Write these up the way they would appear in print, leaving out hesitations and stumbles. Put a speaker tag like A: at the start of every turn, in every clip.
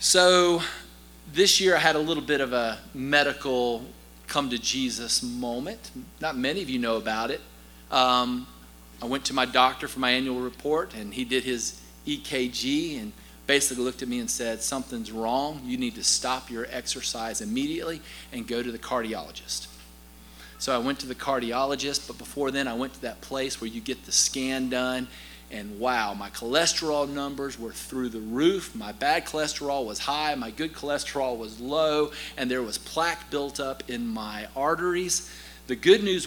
A: So this year I had a little bit of a medical come to Jesus moment. Not many of you know about it. I went to my doctor for my annual report, and he did his EKG and basically looked at me and said, something's wrong. You need to stop your exercise immediately and go to the cardiologist. So I went to the cardiologist, but before then I went to that place where you get the scan done, and wow, my cholesterol numbers were through the roof. My bad cholesterol was high, my good cholesterol was low, and there was plaque built up in my arteries. The good news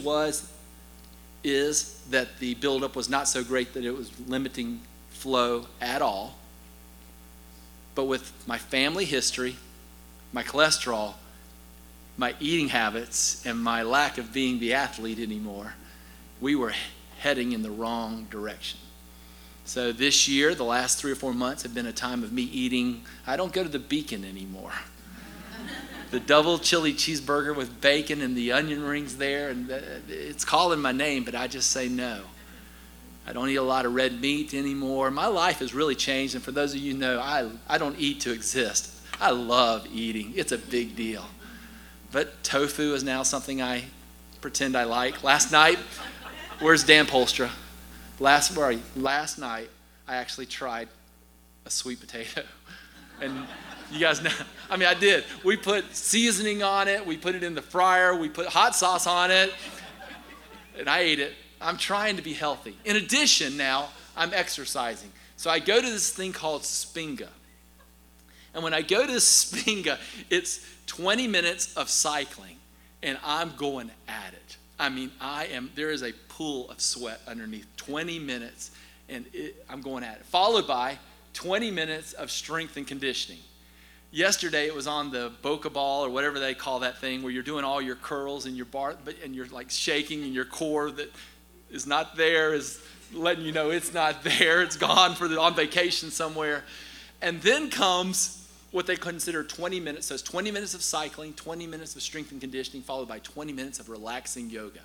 A: is that the buildup was not so great that it was limiting flow at all. But with my family history, my cholesterol, my eating habits, and my lack of being the athlete anymore, we were heading in the wrong direction. So this year, the last 3 or 4 months have been a time of me eating. I don't go to the Beacon anymore. The double chili cheeseburger with bacon and the onion rings there, and it's calling my name, but I just say no. I don't eat a lot of red meat anymore. My life has really changed, and for those of you who know, I don't eat to exist. I love eating. It's a big deal. But tofu is now something I pretend I like. Last night, where's Dan Polstra? Last night, I actually tried a sweet potato. And you guys know, I did. We put seasoning on it. We put it in the fryer. We put hot sauce on it. And I ate it. I'm trying to be healthy. In addition, now, I'm exercising. So I go to this thing called Spinga. And when I go to Spinga, it's 20 minutes of cycling. And I'm going at it. There is a pool of sweat underneath. 20 minutes, and I'm going at it. Followed by 20 minutes of strength and conditioning. Yesterday, it was on the Boca ball or whatever they call that thing where you're doing all your curls and your bar, and you're like shaking, and your core that is not there is letting you know it's not there. It's gone on vacation somewhere. And then comes what they consider 20 minutes. So it's 20 minutes of cycling, 20 minutes of strength and conditioning, followed by 20 minutes of relaxing yoga.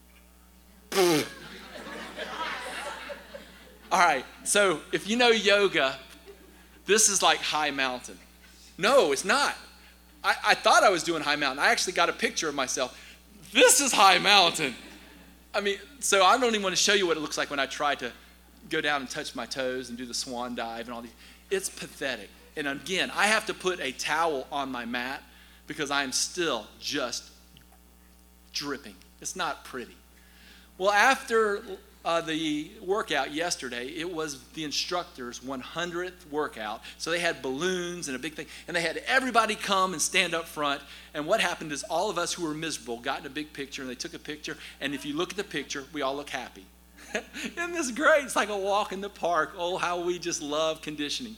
A: All right, so if you know yoga, this is like high mountain. No, it's not. I thought I was doing high mountain. I actually got a picture of myself. This is high mountain. So I don't even want to show you what it looks like when I try to go down and touch my toes and do the swan dive and all these. It's pathetic. And again, I have to put a towel on my mat because I am still just dripping. It's not pretty. Well, after the workout yesterday, it was the instructor's 100th workout. So they had balloons and a big thing, and they had everybody come and stand up front. And what happened is all of us who were miserable got in a big picture, and they took a picture. And if you look at the picture, we all look happy. Isn't this great? It's like a walk in the park. Oh, how we just love conditioning.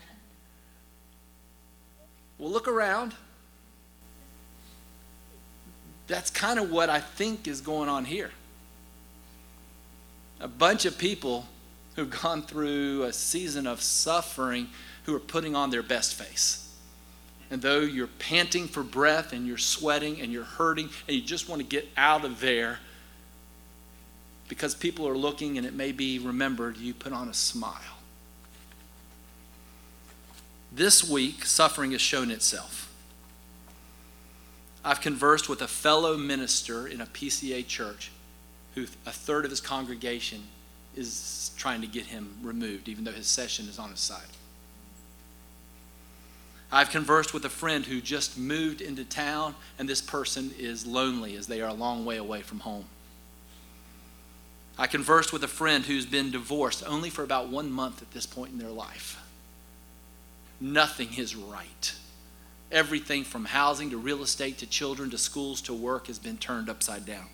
A: Well, look around. That's kind of what I think is going on here. A bunch of people who've gone through a season of suffering who are putting on their best face. And though you're panting for breath and you're sweating and you're hurting and you just want to get out of there because people are looking and it may be remembered, you put on a smile. This week, suffering has shown itself. I've conversed with a fellow minister in a PCA church who a third of his congregation is trying to get him removed, even though his session is on his side. I've conversed with a friend who just moved into town, and this person is lonely as they are a long way away from home. I conversed with a friend who's been divorced only for about 1 month at this point in their life. Nothing is right. Everything from housing to real estate to children to schools to work has been turned upside down.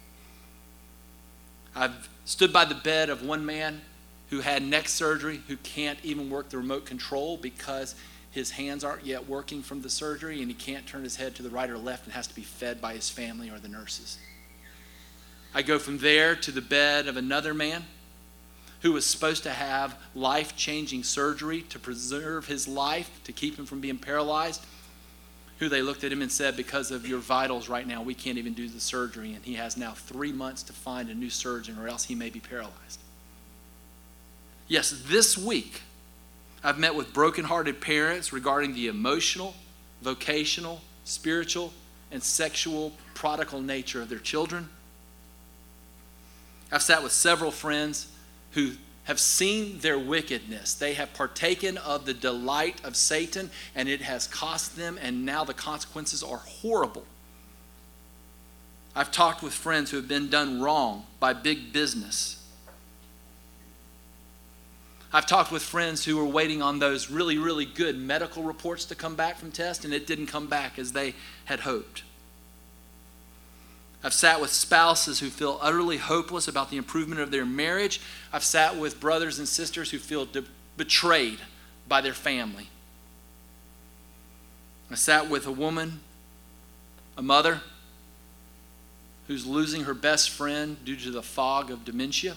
A: I've stood by the bed of one man who had neck surgery, who can't even work the remote control because his hands aren't yet working from the surgery, and he can't turn his head to the right or left and has to be fed by his family or the nurses. I go from there to the bed of another man who was supposed to have life-changing surgery to preserve his life, to keep him from being paralyzed, who they looked at him and said, because of your vitals right now, we can't even do the surgery, and he has now 3 months to find a new surgeon or else he may be paralyzed. Yes, this week, I've met with brokenhearted parents regarding the emotional, vocational, spiritual, and sexual prodigal nature of their children. I've sat with several friends who have seen their wickedness. They have partaken of the delight of Satan, and it has cost them, and now the consequences are horrible. I've talked with friends who have been done wrong by big business. I've talked with friends who were waiting on those really, really good medical reports to come back from tests, and it didn't come back as they had hoped. I've sat with spouses who feel utterly hopeless about the improvement of their marriage. I've sat with brothers and sisters who feel betrayed by their family. I sat with a woman, a mother, who's losing her best friend due to the fog of dementia.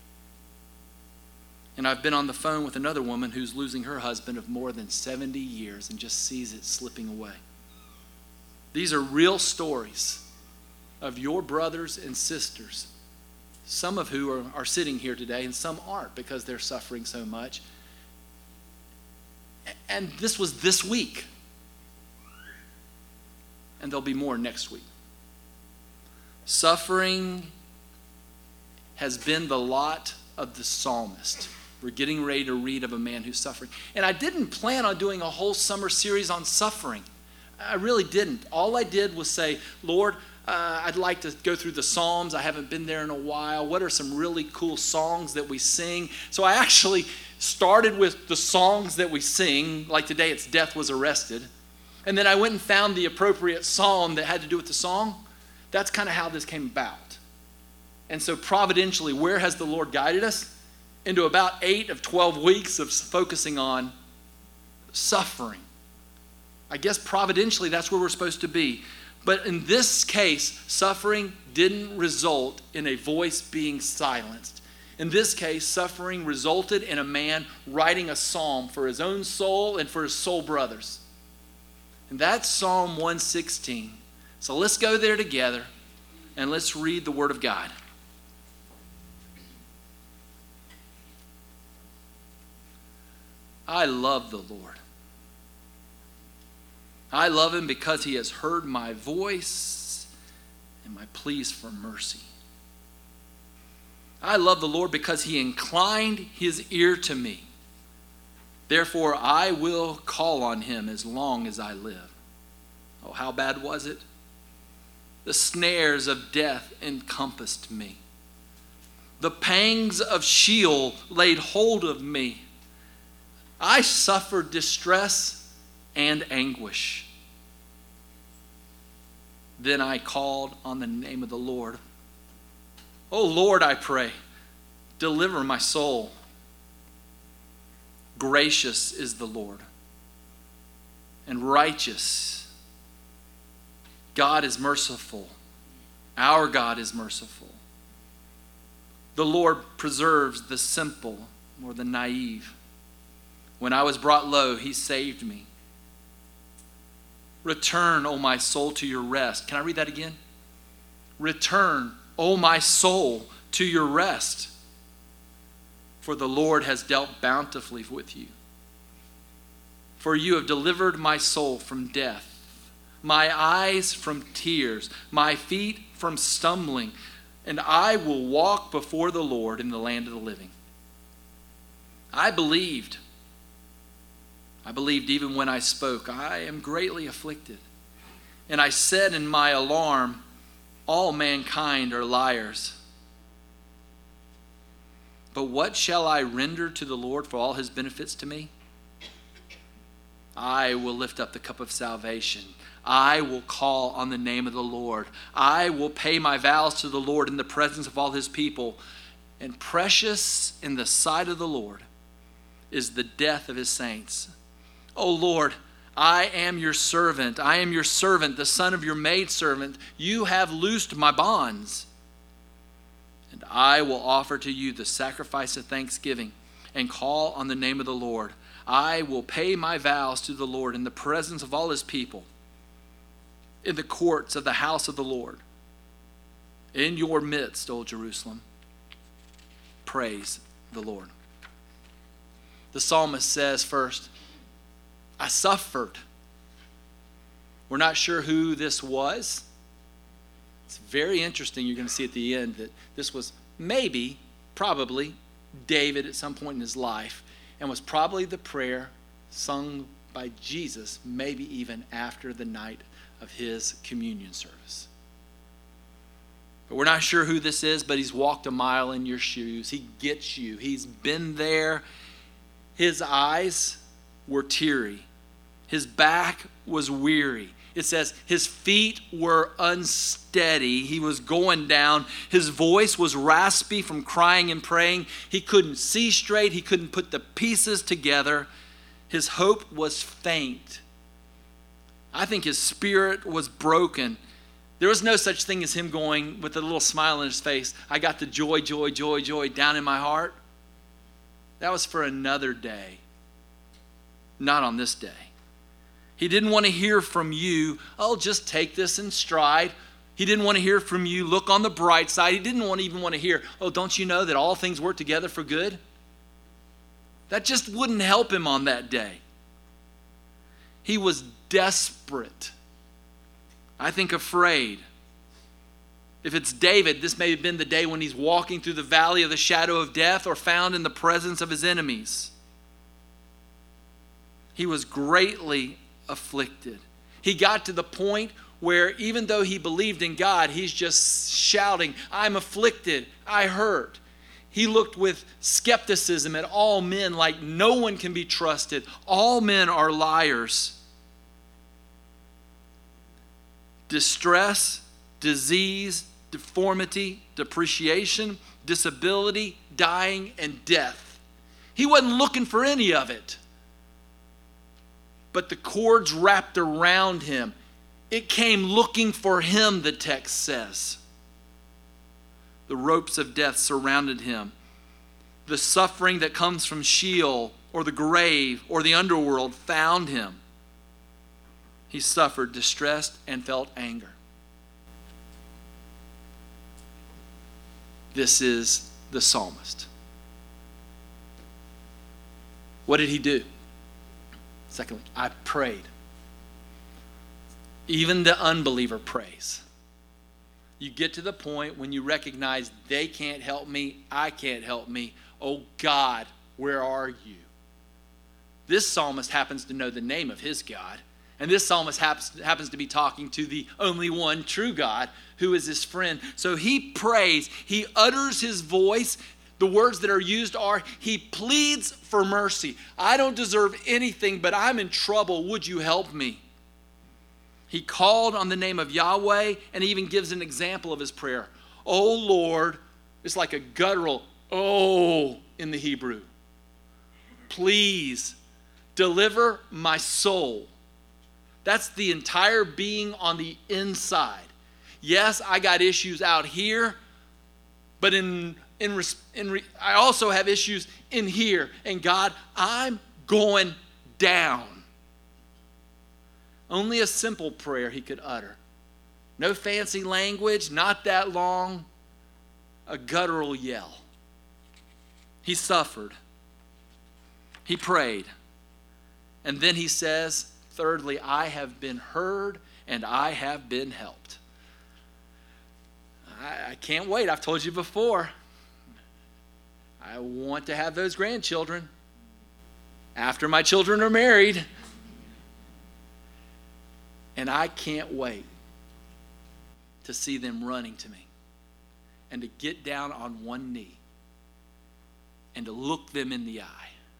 A: And I've been on the phone with another woman who's losing her husband of more than 70 years and just sees it slipping away. These are real stories of your brothers and sisters, some of who are sitting here today and some aren't because they're suffering so much. And this was this week. And there'll be more next week. Suffering has been the lot of the psalmist. We're getting ready to read of a man who's suffering. And I didn't plan on doing a whole summer series on suffering. I really didn't. All I did was say, Lord, I'd like to go through the Psalms. I haven't been there in a while. What are some really cool songs that we sing? So I actually started with the songs that we sing. Like today, it's Death Was Arrested. And then I went and found the appropriate psalm that had to do with the song. That's kind of how this came about. And so providentially, where has the Lord guided us? Into about 8 of 12 weeks of focusing on suffering. I guess providentially, that's where we're supposed to be. But in this case, suffering didn't result in a voice being silenced. In this case, suffering resulted in a man writing a psalm for his own soul and for his soul brothers. And that's Psalm 116. So let's go there together and let's read the Word of God. I love the Lord. I love him because he has heard my voice and my pleas for mercy. I love the Lord because he inclined his ear to me. Therefore, I will call on him as long as I live. Oh, how bad was it? The snares of death encompassed me. The pangs of Sheol laid hold of me. I suffered distress and anguish. Then I called on the name of the Lord. Oh Lord, I pray, deliver my soul. Gracious is the Lord, and righteous. God is merciful. Our God is merciful. The Lord preserves the simple more than naive. When I was brought low, he saved me. Return, O my soul, to your rest. Can I read that again? Return, O my soul, to your rest. For the Lord has dealt bountifully with you. For you have delivered my soul from death, my eyes from tears, my feet from stumbling, and I will walk before the Lord in the land of the living. I believed even when I spoke, I am greatly afflicted. And I said in my alarm, all mankind are liars. But what shall I render to the Lord for all his benefits to me? I will lift up the cup of salvation. I will call on the name of the Lord. I will pay my vows to the Lord in the presence of all his people. And precious in the sight of the Lord is the death of his saints. O Lord, I am your servant. I am your servant, the son of your maidservant. You have loosed my bonds. And I will offer to you the sacrifice of thanksgiving and call on the name of the Lord. I will pay my vows to the Lord in the presence of all his people, in the courts of the house of the Lord. In your midst, O Jerusalem, praise the Lord. The psalmist says first, I suffered. We're not sure who this was. It's very interesting. You're going to see at the end that this was probably David at some point in his life, and was probably the prayer sung by Jesus, maybe even after the night of his communion service. But we're not sure who this is, but he's walked a mile in your shoes. He gets you. He's been there. His eyes were teary. His back was weary. It says his feet were unsteady. He was going down. His voice was raspy from crying and praying. He couldn't see straight. He couldn't put the pieces together. His hope was faint. I think his spirit was broken. There was no such thing as him going with a little smile on his face, I got the joy, joy, joy, joy down in my heart. That was for another day, not on this day. He didn't want to hear from you, oh, just take this in stride. He didn't want to hear from you, look on the bright side. He didn't even want to hear, oh, don't you know that all things work together for good? That just wouldn't help him on that day. He was desperate. I think afraid. If it's David, this may have been the day when he's walking through the valley of the shadow of death or found in the presence of his enemies. He was greatly afflicted. He got to the point where even though he believed in God, he's just shouting, I'm afflicted, I hurt. He looked with skepticism at all men like no one can be trusted. All men are liars. Distress, disease, deformity, depreciation, disability, dying, and death. He wasn't looking for any of it. But the cords wrapped around him. It came looking for him, the text says. The ropes of death surrounded him. The suffering that comes from Sheol or the grave or the underworld found him. He suffered, distressed, and felt anger. This is the psalmist. What did he do? Secondly, I prayed. Even the unbeliever prays. You get to the point when you recognize they can't help me, I can't help me. Oh God, where are you? This psalmist happens to know the name of his God. And this psalmist happens to be talking to the only one true God who is his friend. So he prays, he utters his voice. The words that are used are, he pleads for mercy. I don't deserve anything, but I'm in trouble. Would you help me? He called on the name of Yahweh and even gives an example of his prayer. Oh Lord, it's like a guttural, oh, in the Hebrew. Please deliver my soul. That's the entire being on the inside. Yes, I got issues out here, but I also have issues in here. And God, I'm going down. Only a simple prayer he could utter. No fancy language, not that long. A guttural yell. He suffered. He prayed. And then he says, thirdly, I have been heard and I have been helped. I can't wait. I've told you before. I want to have those grandchildren after my children are married. And I can't wait to see them running to me and to get down on one knee and to look them in the eye.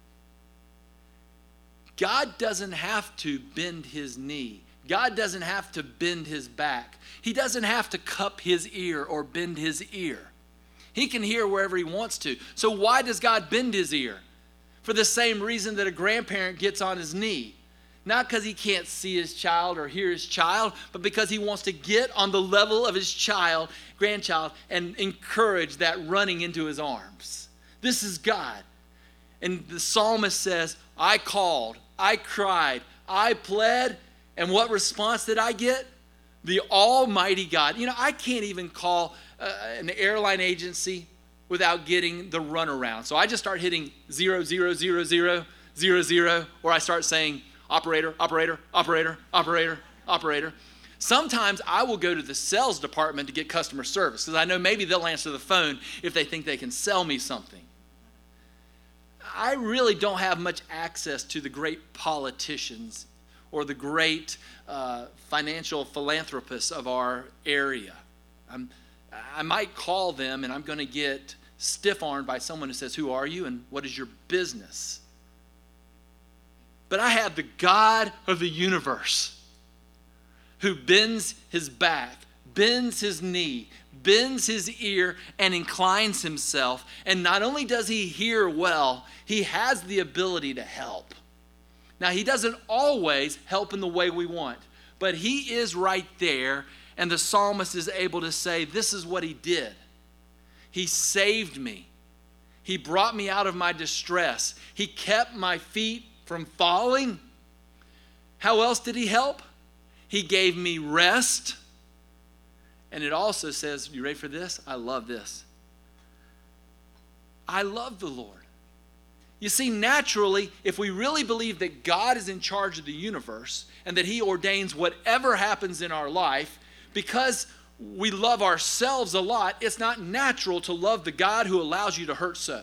A: God doesn't have to bend his knee. God doesn't have to bend his back. He doesn't have to cup his ear or bend his ear. He can hear wherever he wants to. So why does God bend his ear? For the same reason that a grandparent gets on his knee. Not because he can't see his child or hear his child, but because he wants to get on the level of his grandchild, and encourage that running into his arms. This is God. And the psalmist says, I called, I cried, I pled, and what response did I get? The Almighty God. You know, I can't even call an airline agency without getting the runaround. So I just start hitting 0, 0, 0, 0, 0, 0, or I start saying operator, operator, operator, operator, operator. Sometimes I will go to the sales department to get customer service because I know maybe they'll answer the phone if they think they can sell me something. I really don't have much access to the great politicians or the great financial philanthropists of our area. I might call them and I'm going to get stiff-armed by someone who says, "Who are you and what is your business?" But I have the God of the universe who bends his back, bends his knee, bends his ear, and inclines himself. And not only does he hear well, he has the ability to help. Now, he doesn't always help in the way we want, but he is right there, and the psalmist is able to say, this is what he did. He saved me. He brought me out of my distress. He kept my feet from falling. How else did he help? He gave me rest. And it also says, you ready for this? I love this. I love the Lord. You see, naturally, if we really believe that God is in charge of the universe and that he ordains whatever happens in our life, because we love ourselves a lot, it's not natural to love the God who allows you to hurt so.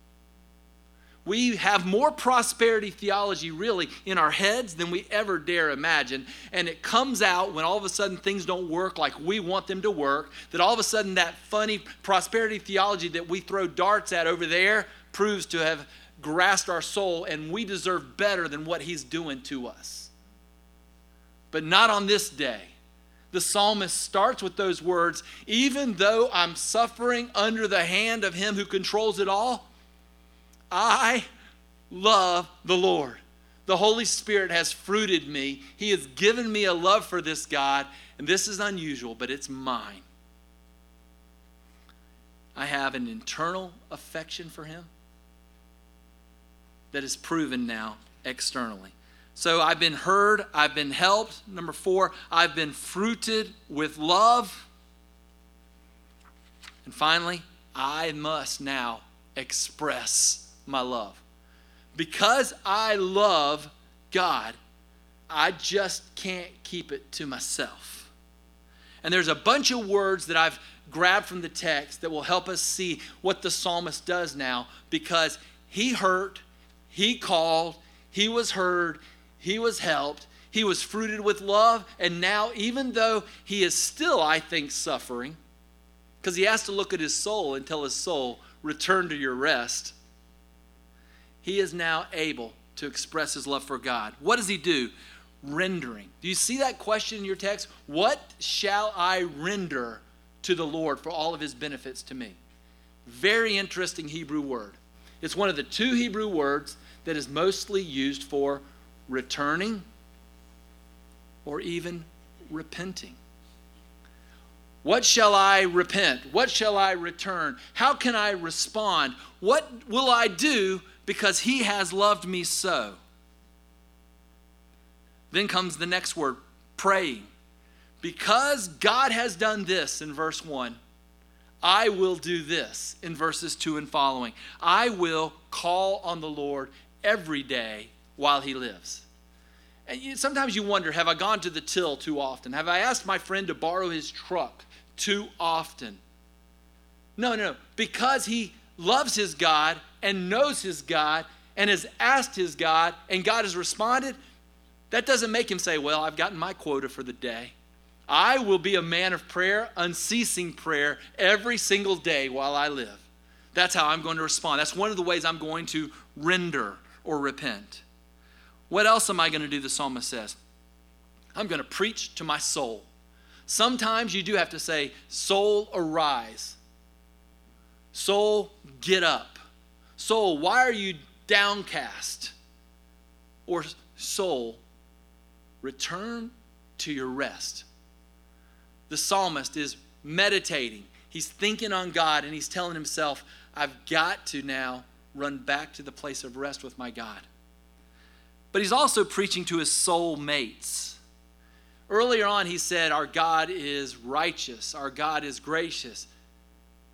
A: We have more prosperity theology really in our heads than we ever dare imagine. And it comes out when all of a sudden things don't work like we want them to work, that all of a sudden that funny prosperity theology that we throw darts at over there proves to have grasped our soul, and we deserve better than what he's doing to us. But not on this day. The psalmist starts with those words, even though I'm suffering under the hand of him who controls it all, I love the Lord. The Holy Spirit has fruited me. He has given me a love for this God, and this is unusual, but it's mine. I have an internal affection for him that is proven now externally. So I've been heard, I've been helped. Number 4, I've been fruited with love. And finally, I must now express my love. Because I love God, I just can't keep it to myself. And there's a bunch of words that I've grabbed from the text that will help us see what the psalmist does now, because he hurt, he called, he was heard, he was helped, he was fruited with love, and now even though he is still, I think, suffering, because he has to look at his soul and tell his soul, return to your rest, he is now able to express his love for God. What does he do? Rendering. Do you see that question in your text? What shall I render to the Lord for all of his benefits to me? Very interesting Hebrew word. It's one of the 2 Hebrew words that is mostly used for returning or even repenting. What shall I repent? What shall I return? How can I respond? What will I do because he has loved me so? Then comes the next word, praying. Because God has done this in verse 1, I will do this in verses 2 and following. I will call on the Lord every day while he lives. And sometimes you wonder, have I gone to the till too often? Have I asked my friend to borrow his truck too often? No. Because he loves his God and knows his God and has asked his God and God has responded, that doesn't make him say, well, I've gotten my quota for the day. I will be a man of prayer, unceasing prayer, every single day while I live. That's how I'm going to respond. That's one of the ways I'm going to render or repent. What else am I going to do, the psalmist says? I'm going to preach to my soul. Sometimes you do have to say, soul, arise. Soul, get up. Soul, why are you downcast? Or soul, return to your rest. The psalmist is meditating. He's thinking on God and he's telling himself, I've got to now run back to the place of rest with my God. But he's also preaching to his soul mates. Earlier on he said, our God is righteous. Our God is gracious.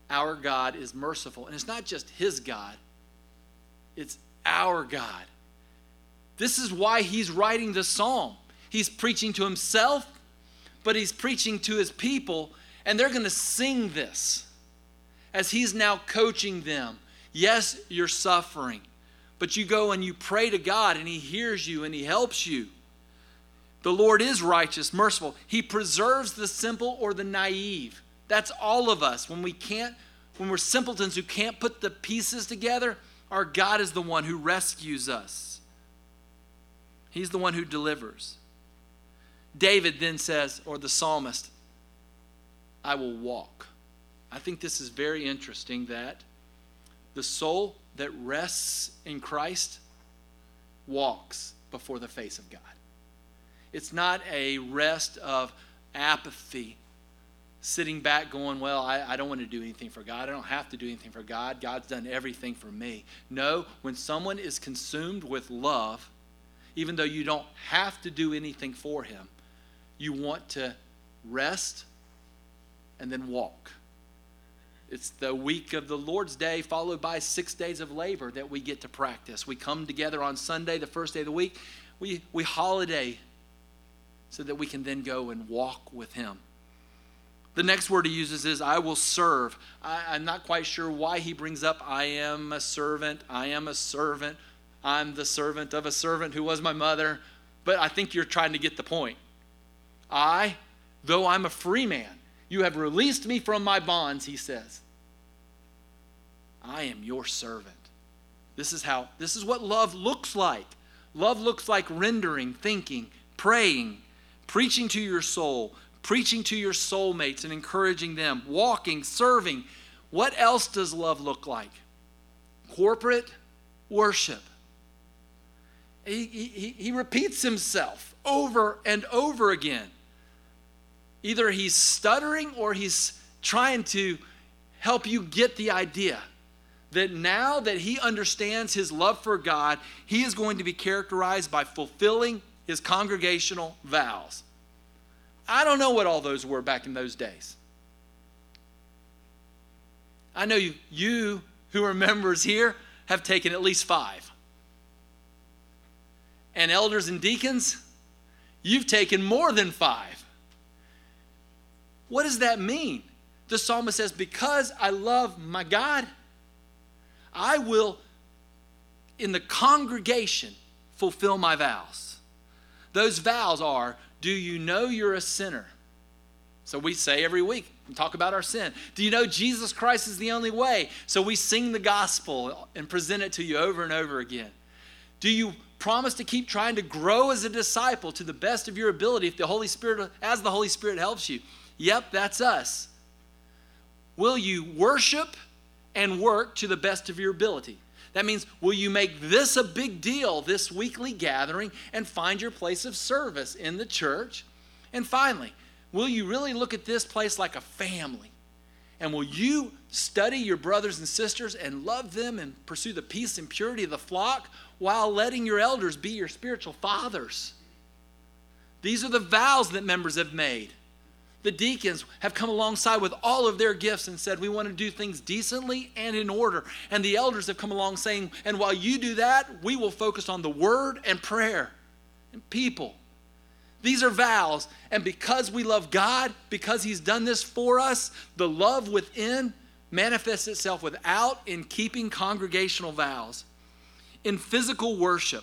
A: Our God is merciful. And it's not just his God. It's our God. This is why he's writing the psalm. He's preaching to himself, but he's preaching to his people, and they're going to sing this as he's now coaching them. Yes, you're suffering, but you go and you pray to God, and he hears you and he helps you. The Lord is righteous, merciful. He preserves the simple or the naive. That's all of us. When we're simpletons who can't put the pieces together, our God is the one who rescues us. He's the one who delivers. David then says, or the psalmist, I will walk. I think this is very interesting that the soul that rests in Christ walks before the face of God. It's not a rest of apathy, sitting back going, well, I don't want to do anything for God. I don't have to do anything for God. God's done everything for me. No, when someone is consumed with love, even though you don't have to do anything for him, you want to rest and then walk. It's the week of the Lord's Day followed by 6 days of labor that we get to practice. We come together on Sunday, the first day of the week. We holiday so that we can then go and walk with him. The next word he uses is, I will serve. I'm not quite sure why he brings up, I am a servant. I am a servant. I'm the servant of a servant who was my mother. But I think you're trying to get the point. Though I'm a free man, you have released me from my bonds, he says. I am your servant. This is what love looks like. Love looks like rendering, thinking, praying, preaching to your soul, preaching to your soulmates and encouraging them, walking, serving. What else does love look like? Corporate worship. He repeats himself over and over again. Either he's stuttering or he's trying to help you get the idea that now that he understands his love for God, he is going to be characterized by fulfilling his congregational vows. I don't know what all those were back in those days. I know you who are members here have taken at least 5. And elders and deacons, you've taken more than 5. What does that mean? The psalmist says, because I love my God, I will, in the congregation, fulfill my vows. Those vows are, do you know you're a sinner? So we say every week, we talk about our sin. Do you know Jesus Christ is the only way? So we sing the gospel and present it to you over and over again. Do you promise to keep trying to grow as a disciple to the best of your ability as the Holy Spirit helps you? Yep, that's us. Will you worship and work to the best of your ability? That means, will you make this a big deal, this weekly gathering, and find your place of service in the church? And finally, will you really look at this place like a family? And will you study your brothers and sisters and love them and pursue the peace and purity of the flock while letting your elders be your spiritual fathers? These are the vows that members have made. The deacons have come alongside with all of their gifts and said, we want to do things decently and in order. And the elders have come along saying, and while you do that, we will focus on the word and prayer and people. These are vows. And because we love God, because he's done this for us, the love within manifests itself without in keeping congregational vows. In physical worship,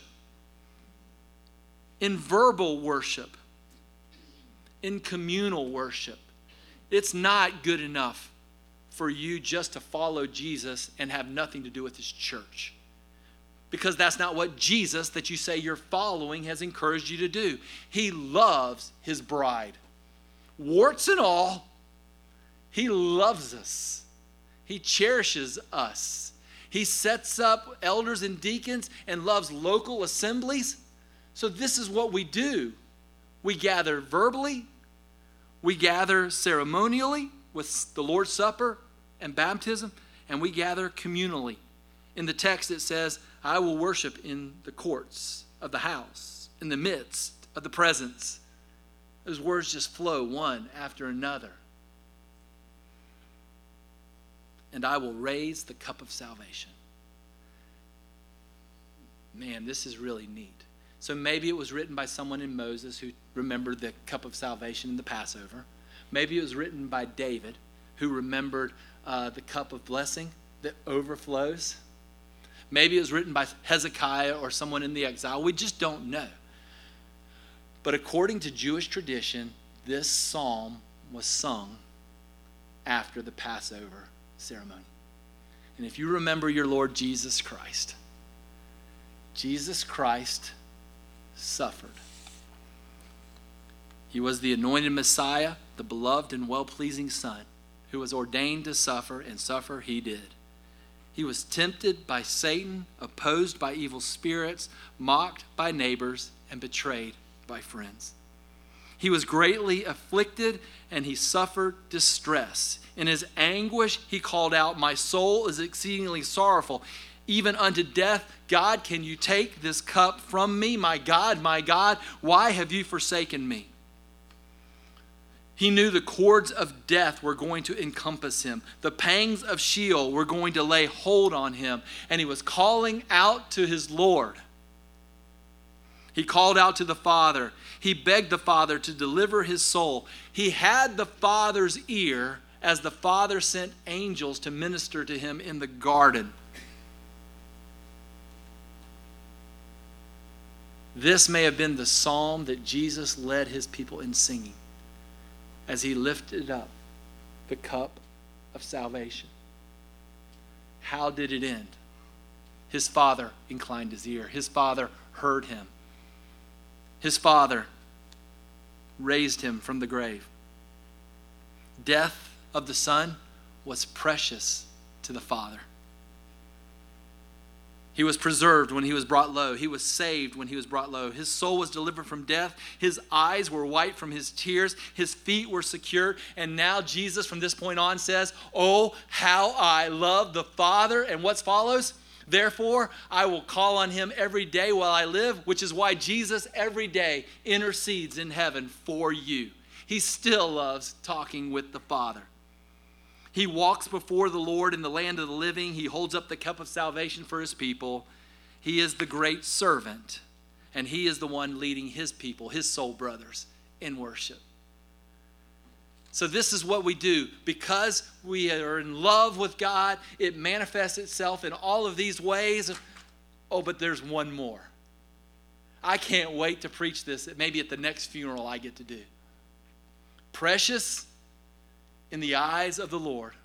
A: in verbal worship, in communal worship. It's not good enough for you just to follow Jesus and have nothing to do with his church. Because that's not what Jesus that you say you're following has encouraged you to do. He loves his bride. Warts and all, he loves us. He cherishes us. He sets up elders and deacons and loves local assemblies. So this is what we do. We gather verbally, we gather ceremonially with the Lord's Supper and baptism, and we gather communally. In the text it says, I will worship in the courts of the house, in the midst of the presence. Those words just flow one after another. and I will raise the cup of salvation. Man, this is really neat. So maybe it was written by someone in Moses who remembered the cup of salvation in the Passover. Maybe it was written by David, who remembered the cup of blessing that overflows. Maybe it was written by Hezekiah or someone in the exile. We just don't know. But according to Jewish tradition, this psalm was sung after the Passover ceremony. And if you remember your Lord Jesus Christ suffered. He was the anointed Messiah, the beloved and well-pleasing Son, who was ordained to suffer, and suffer he did. He was tempted by Satan, opposed by evil spirits, mocked by neighbors, and betrayed by friends. He was greatly afflicted, and he suffered distress. In his anguish, he called out, "My soul is exceedingly sorrowful, even unto death. God, can you take this cup from me? My God, why have you forsaken me?" He knew the cords of death were going to encompass him. The pangs of Sheol were going to lay hold on him. And he was calling out to his Lord. He called out to the Father. He begged the Father to deliver his soul. He had the Father's ear as the Father sent angels to minister to him in the garden. This may have been the psalm that Jesus led his people in singing as he lifted up the cup of salvation. How did it end? His Father inclined his ear. His Father heard him. His Father raised him from the grave. Death of the Son was precious to the Father. He was preserved when he was brought low. He was saved when he was brought low. His soul was delivered from death. His eyes were white from his tears. His feet were secured. And now Jesus from this point on says, "Oh, how I love the Father." And what follows? "Therefore, I will call on him every day while I live," which is why Jesus every day intercedes in heaven for you. He still loves talking with the Father. He walks before the Lord in the land of the living. He holds up the cup of salvation for his people. He is the great servant, and he is the one leading his people, his soul brothers, in worship. So this is what we do. Because we are in love with God, it manifests itself in all of these ways. Oh, but there's one more. I can't wait to preach this, maybe at the next funeral I get to do. Precious in the eyes of the Lord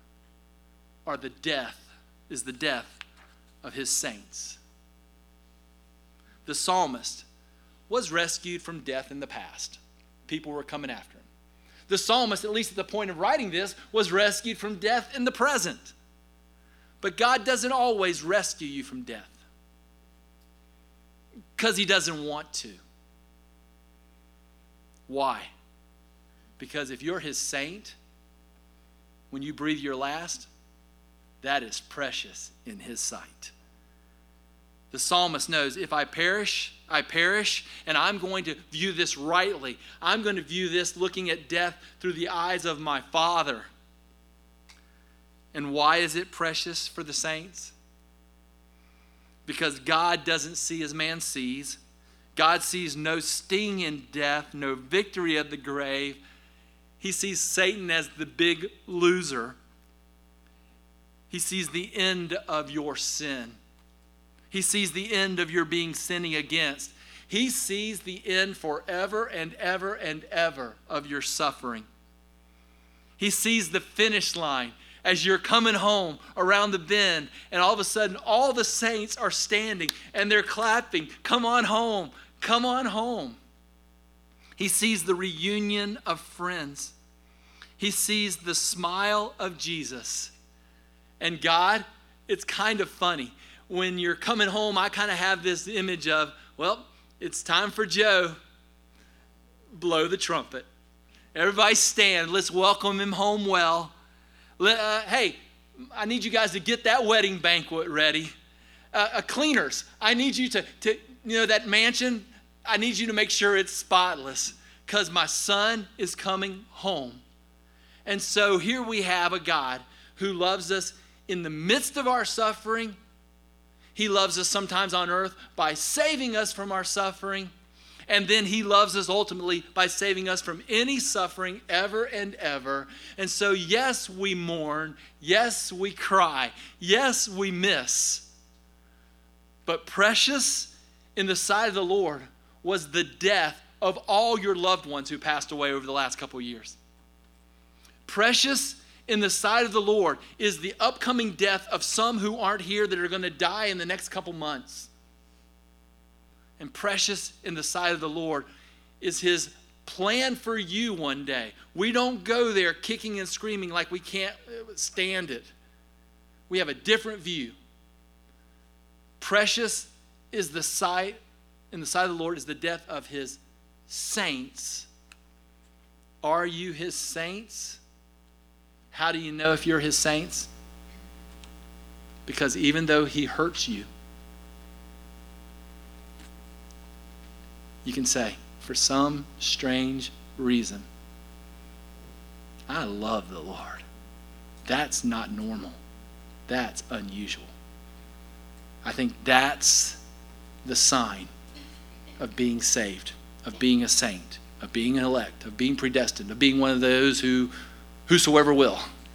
A: is the death of his saints. The psalmist was rescued from death in the past. People were coming after him. The psalmist, at least at the point of writing this, was rescued from death in the present. But God doesn't always rescue you from death because he doesn't want to. Why? Because if you're his saint, when you breathe your last, that is precious in his sight. The psalmist knows, if I perish, I perish, and I'm going to view this rightly. I'm going to view this looking at death through the eyes of my Father. And why is it precious for the saints? Because God doesn't see as man sees. God sees no sting in death, no victory of the grave. He sees Satan as the big loser. He sees the end of your sin. He sees the end of your being sinning against. He sees the end forever and ever and ever of your suffering. He sees the finish line as you're coming home around the bend, and all of a sudden all the saints are standing and they're clapping. Come on home. Come on home. He sees the reunion of friends. He sees the smile of Jesus. And God, it's kind of funny. When you're coming home, I kind of have this image of, well, it's time for Joe. Blow the trumpet. Everybody stand. Let's welcome him home well. Hey, I need you guys to get that wedding banquet ready. Cleaners, I need you to that mansion, I need you to make sure it's spotless because my son is coming home. And so here we have a God who loves us in the midst of our suffering. He loves us sometimes on earth by saving us from our suffering. And then he loves us ultimately by saving us from any suffering ever and ever. And so, yes, we mourn. Yes, we cry. Yes, we miss. But precious in the sight of the Lord was the death of all your loved ones who passed away over the last couple of years. Precious in the sight of the Lord is the upcoming death of some who aren't here that are going to die in the next couple months. And precious in the sight of the Lord is his plan for you one day. We don't go there kicking and screaming like we can't stand it. We have a different view. Precious is the sight, in the sight of the Lord is the death of his saints. Are you his saints? How do you know if you're his saints? Because even though he hurts you, you can say, for some strange reason, I love the Lord. That's not normal. That's unusual. I think that's the sign of being saved, of being a saint, of being an elect, of being predestined, of being one of those whosoever will.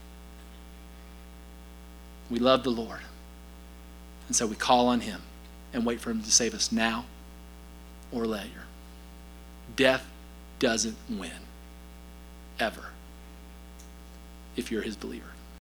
A: We love the Lord. And so we call on him and wait for him to save us now or later. Death doesn't win, ever, if you're his believer.